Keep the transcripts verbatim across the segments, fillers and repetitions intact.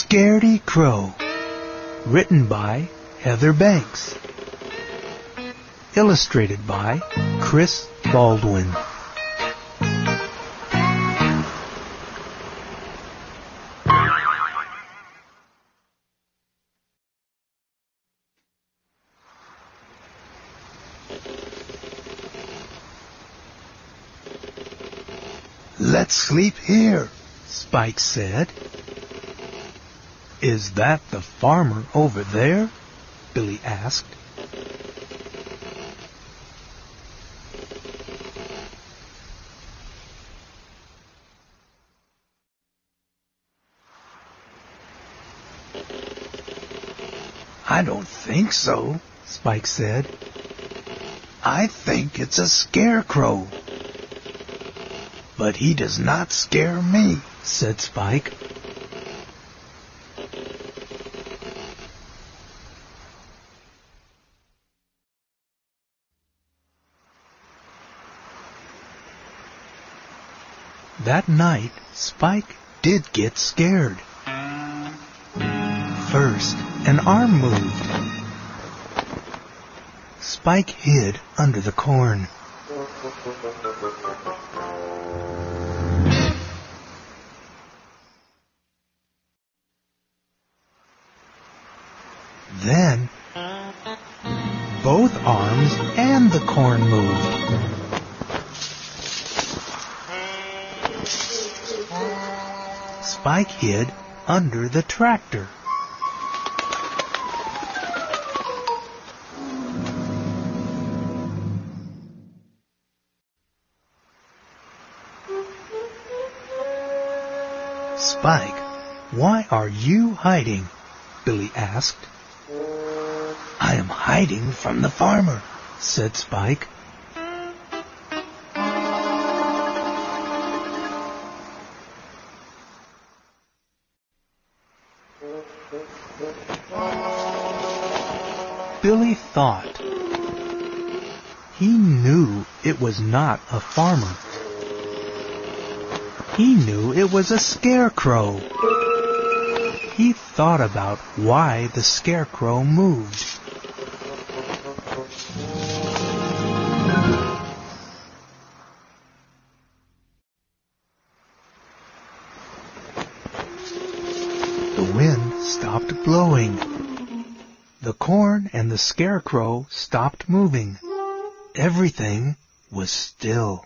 Scaredy Crow. Written by Heather Banks. Illustrated by Chris Baldwin. "Let's sleep here," Spike said. "Is that the farmer over there?" Billy asked. "I don't think so," Spike said. "I think it's a scarecrow. But he does not scare me," said Spike. That night, Spike did get scared. First, an arm moved. Spike hid under the corn. Then, both arms and the corn moved. Spike hid under the tractor. "Spike, why are you hiding?" Billy asked. "I am hiding from the farmer," said Spike. Billy thought. He knew it was not a farmer. He knew it was a scarecrow. He thought about why the scarecrow moved. The wind stopped blowing. The corn and the scarecrow stopped moving. Everything was still.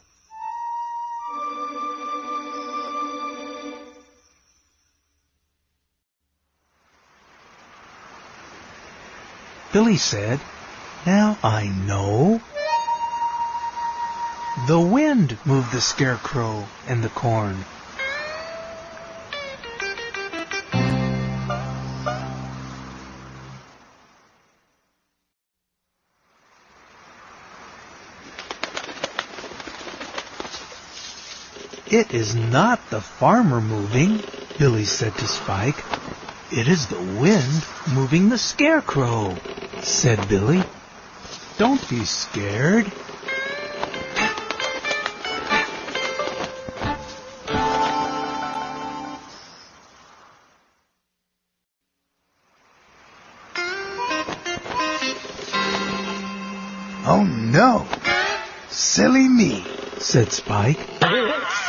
Billy said, "Now I know. The wind moved the scarecrow and the corn." "It is not the farmer moving," Billy said to Spike. "It is the wind moving the scarecrow," said Billy. "Don't be scared." "Oh no! Silly me," said Spike.